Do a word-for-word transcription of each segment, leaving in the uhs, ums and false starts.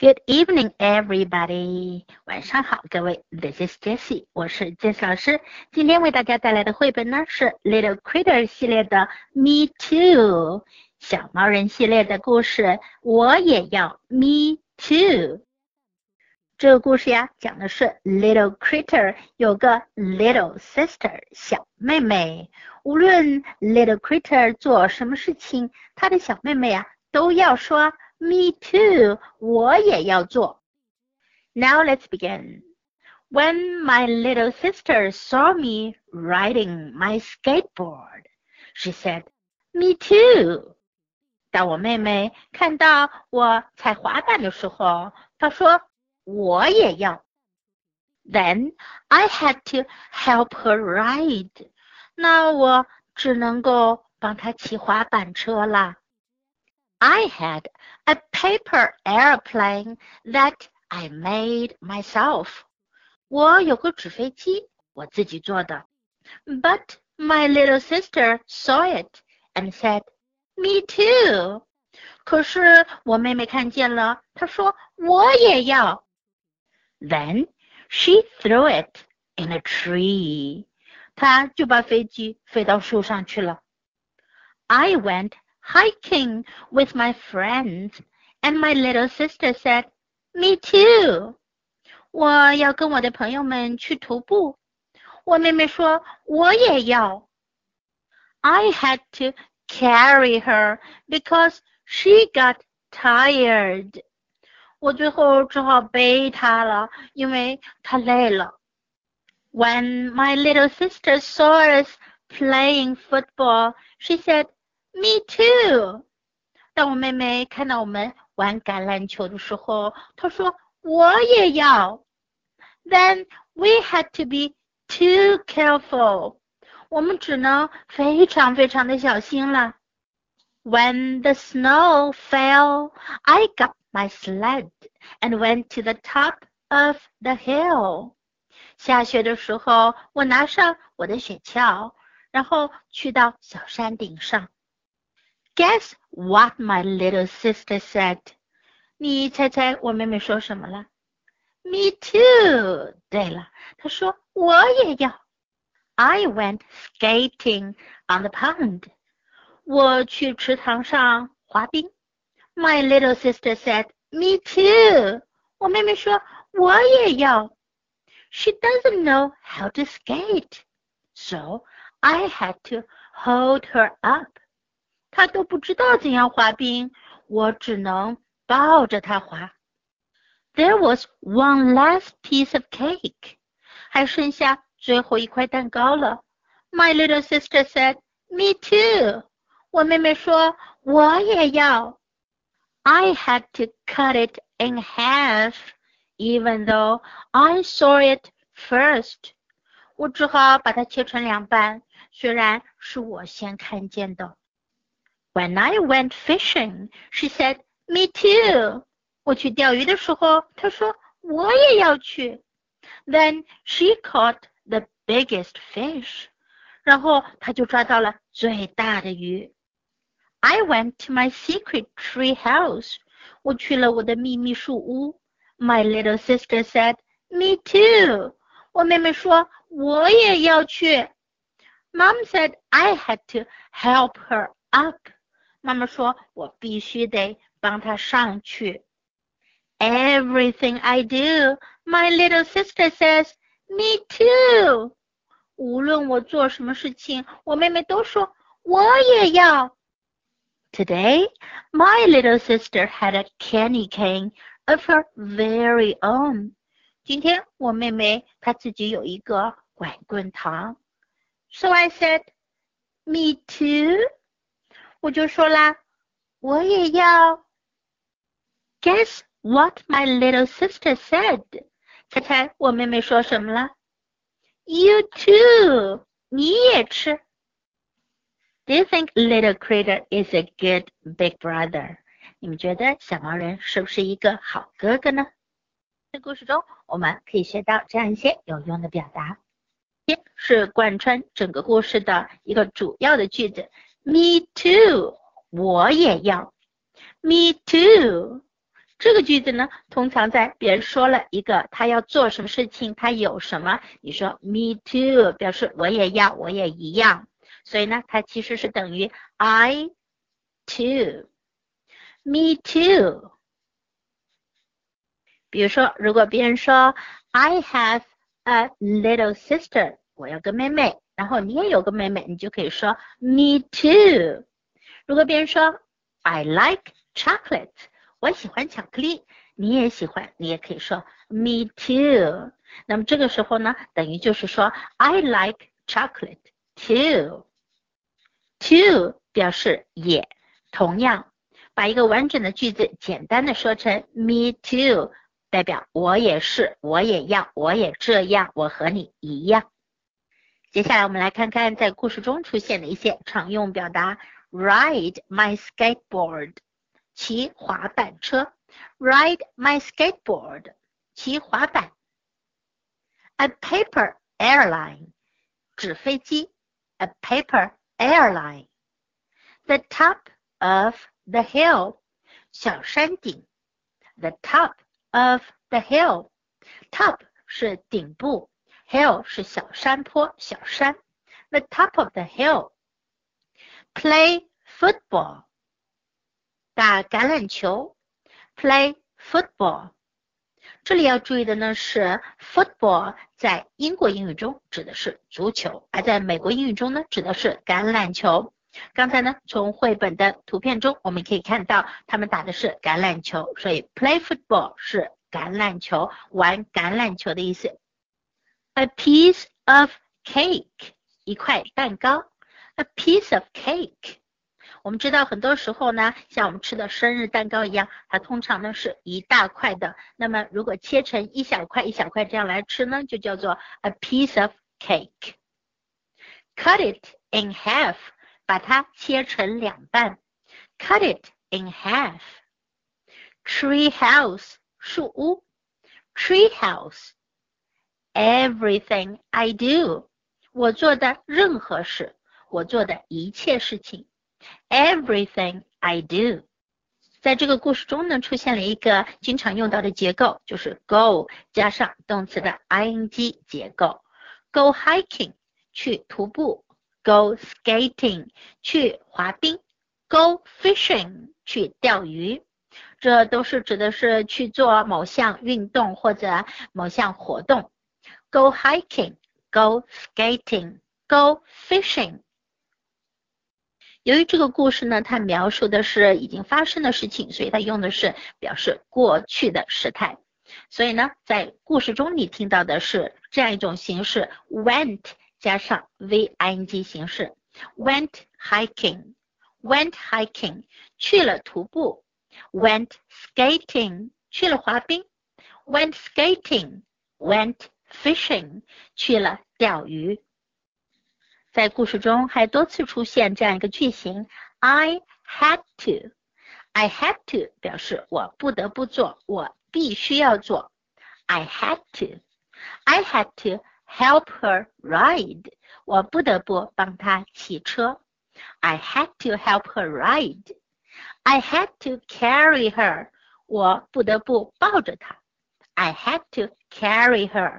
Good evening, everybody. 晚上好，各位。This is Jessie， 我是 Jessie 老师。今天为大家带来的绘本呢是 Little Critter 系列的 Me Too， 小毛人系列的故事。我也要 Me Too。这个故事呀，讲的是 Little Critter 有个 Little Sister 小妹妹。无论 Little Critter 做什么事情，她的小妹妹呀都要说Me too, 我也要做。Now let's begin. When my little sister saw me riding my skateboard, she said, Me too. 当我妹妹看到我踩滑板的时候，她说我也要。Then I had to help her ride. 那我只能够帮她骑滑板车啦。I had a paper airplane that I made myself. 我有个纸飞机，我自己做的。But my little sister saw it and said, Me too. 可是我妹妹看见了，她说我也要。Then she threw it in a tree. 她就把飞机飞到树上去了。I went hiking with my friends, and my little sister said, Me too. 我要跟我的朋友们去徒步，我妹妹说我也要。I had to carry her because she got tired. 我最后只好背她了，因为她累了。When my little sister saw us playing football, she said, Me too. 当我妹妹看到我们玩橄榄球的时候，她说我也要。Then we had to be too careful. 我们只能非常非常的小心了。When the snow fell, I got my sled and went to the top of the hill. 下雪的时候，我拿上我的雪橇，然后去到小山顶上。Guess what my little sister said? 你猜猜我妹妹说什么了？ Me too. 对了，她说我也要。I went skating on the pond. 我去池塘上滑冰。My little sister said, Me too. 我妹妹说我也要。She doesn't know how to skate, so I had to hold her up. 她都不知道怎样滑冰，我只能抱着她滑。There was one last piece of cake. 还剩下最后一块蛋糕了。My little sister said, Me too. 我妹妹说我也要。I had to cut it in half, even though I saw it first. 我只好把它切成两半，虽然是我先看见的。When I went fishing, she said, Me too. 我去钓鱼的时候，她说我也要去。Then she caught the biggest fish. 然后她就抓到了最大的鱼。I went to my secret tree house. 我去了我的秘密树屋。My little sister said, Me too. 我妹妹说我也要去。Mom said I had to help her up. 妈妈说我必须得帮她上去。Everything I do, my little sister says, Me too. 无论我做什么事情，我妹妹都说我也要。Today, my little sister had a candy cane of her very own. 今天我妹妹她自己有一个管棍糖。So I said, Me too. 我就说啦，我也要。Guess what my little sister said? 猜猜我妹妹说什么了？ You too. 你也吃。Do you think little critter is a good big brother? 你们觉得小毛人是不是一个好哥哥呢？在故事中，我们可以学到这样一些有用的表达。这是贯穿整个故事的一个主要的句子。Me too. 我也要。Me too. 这个句子呢，通常在别人说了一个他要做什么事情，他有什么，你说 me too 表示我也要，我也一样，所以呢，它其实是等于 I too me too。比如说，如果别人说 I have a little sister， 我有个妹妹，然后你也有个妹妹，你就可以说 me too。如果别人说 I like chocolate， 我喜欢巧克力，你也喜欢，你也可以说 me too。那么这个时候呢，等于就是说 I like chocolate too。too 表示也，同样，把一个完整的句子简单的说成 me too， 代表我也是，我也要，我也这样，我和你一样。接下来我们来看看在故事中出现的一些常用表达。Ride my skateboard， 骑滑板车。Ride my skateboard， 骑滑板。A paper airline， 纸飞机。A paper airline。 The top of the hill， 小山顶。The top of the hill， top 是顶部， hill 是小山坡，小山。The top of the hill。 Play football， 打橄榄球。Play football。 这里要注意的呢是 football 在英国英语中指的是足球，而在美国英语中呢指的是橄榄球。刚才呢从绘本的图片中我们可以看到他们打的是橄榄球，所以 play football 是橄榄球，玩橄榄球的意思。A piece of cake， 一块蛋糕。A piece of cake， 我们知道很多时候呢，像我们吃的生日蛋糕一样，它通常呢是一大块的，那么如果切成一小块一小块这样来吃呢，就叫做 a piece of cake。 Cut it in half， 把它切成两半。 Cut it in half。 Tree house， 树屋。Tree house。 Everything I do， 我做的任何事，我做的一切事情。 Everything I do。 在这个故事中呢，出现了一个经常用到的结构，就是 go 加上动词的 ing 结构。 Go hiking， 去徒步。 Go skating， 去滑冰。 Go fishing， 去钓鱼。这都是指的是去做某项运动或者某项活动。 Go hiking， Go skating， Go fishing。由于这个故事呢，它描述的是已经发生的事情，所以它用的是表示过去的时态。所以呢，在故事中你听到的是这样一种形式 went 加上 V-ing 形式。 Went hiking， Went hiking， 去了徒步。 Went skating， 去了滑冰。 Went skating， Went fishing， 去了钓鱼。在故事中还多次出现这样一个句型 I had to。 I had to 表示我不得不做，我必须要做。 I had to。 I had to help her ride， 我不得不帮她骑车。 I had to help her ride。 I had to carry her， 我不得不抱着她。 I had to carry her。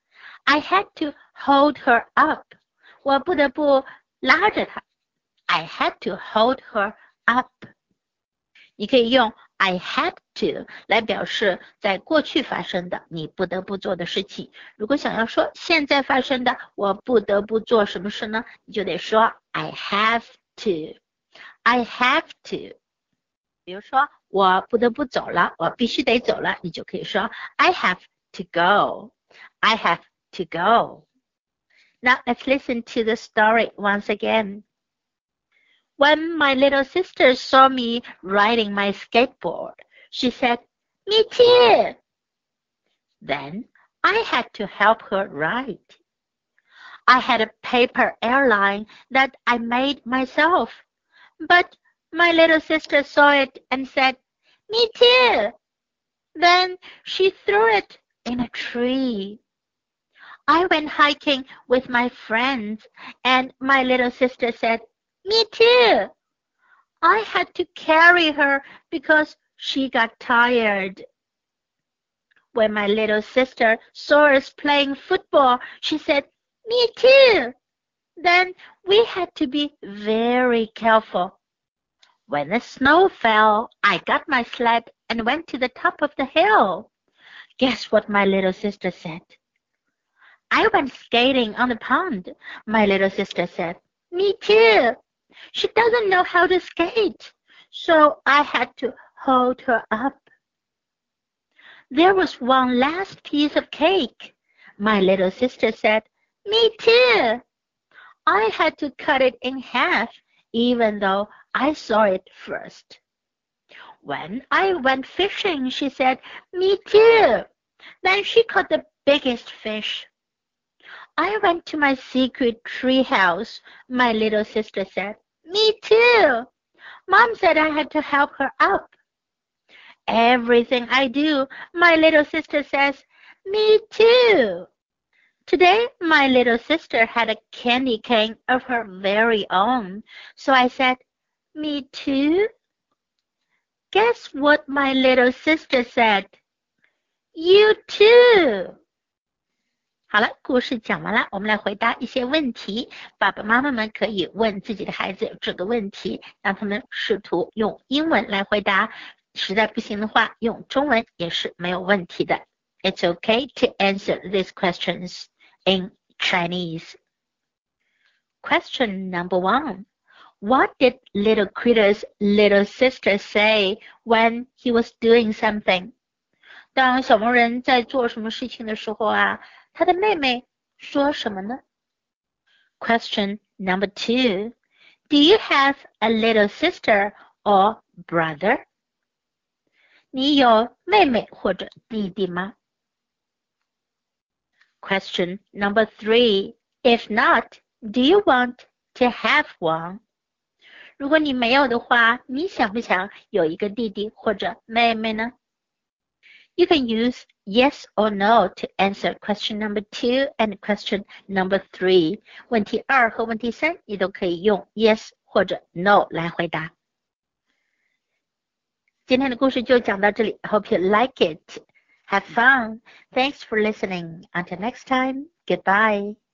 I had to hold her up，我不得不拉着她。 I had to hold her up。 你可以用 I had to 来表示在过去发生的你不得不做的事情。如果想要说现在发生的我不得不做什么事呢，你就得说 I have to。 I have to。 比如说我不得不走了，我必须得走了，你就可以说 I have to go。 I have to go。Now let's listen to the story once again. When my little sister saw me riding my skateboard, she said, "Me too." Then I had to help her ride. I had a paper airline that I made myself, but my little sister saw it and said, "Me too." Then she threw it in a tree. I went hiking with my friends, and my little sister said, "Me too." I had to carry her because she got tired. When my little sister saw us playing football, she said, "Me too." Then we had to be very careful. When the snow fell, I got my sled and went to the top of the hill. Guess what my little sister said? "I went skating on the pond," my little sister said. "Me too." She doesn't know how to skate, so I had to hold her up. There was one last piece of cake. My little sister said, "Me too." I had to cut it in half, even though I saw it first. When I went fishing, she said, "Me too." Then she caught the biggest fish. I went to my secret tree house, my little sister said. "Me too." Mom said I had to help her up. Everything I do, my little sister says, "Me too." Today, my little sister had a candy cane of her very own, so I said, "Me too." Guess what my little sister said? "You too." 好了，故事讲完了，我们来回答一些问题。爸爸妈妈们可以问自己的孩子这个问题，让他们试图用英文来回答。实在不行的话，用中文也是没有问题的。It's okay to answer these questions in Chinese. Question number one. What did little Critter's little sister say when he was doing something? 当小萌人在做什么事情的时候啊，他的妹妹说什么呢？ Question number two. Do you have a little sister or brother? 你有妹妹或者弟弟吗？ Question number three. If not, do you want to have one? 如果你没有的话，你想不想有一个弟弟或者妹妹呢？ You can use yes or no to answer question number two and question number three. 问题二和问题三，你都可以用 yes 或者 no 来回答。今天的故事就讲到这里。I hope you like it. Have fun. Thanks for listening. Until next time. Goodbye.